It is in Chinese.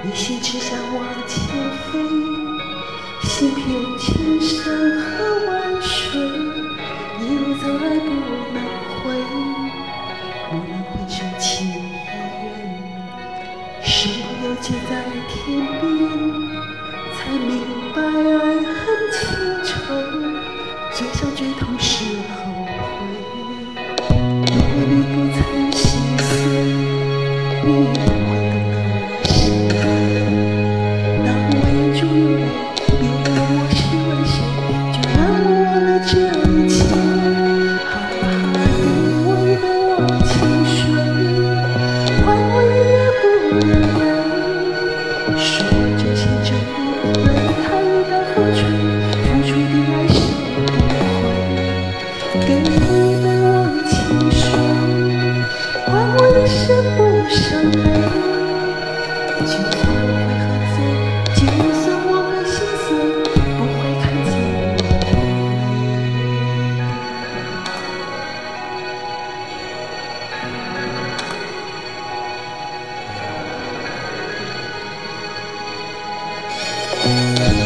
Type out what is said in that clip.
你心只想往前飛，行遍千山和萬水，一路走來不能回，蓦然回首情已遠，身不由己在天邊，才明白愛恨情仇，最傷最痛是後悔。如果你不曾心碎，你也不會懂得我心疼。當我眼中有淚，別問我是為誰，就讓我忘了這一切。好好的我一杯忘情水，換我一夜不能寐。說我真心真意，為他一刀風吹，付出的愛誰不會？給我一杯忘情水，換我一生不傷悲。就算我會喝醉，就算我會心碎，不會看見我的淚。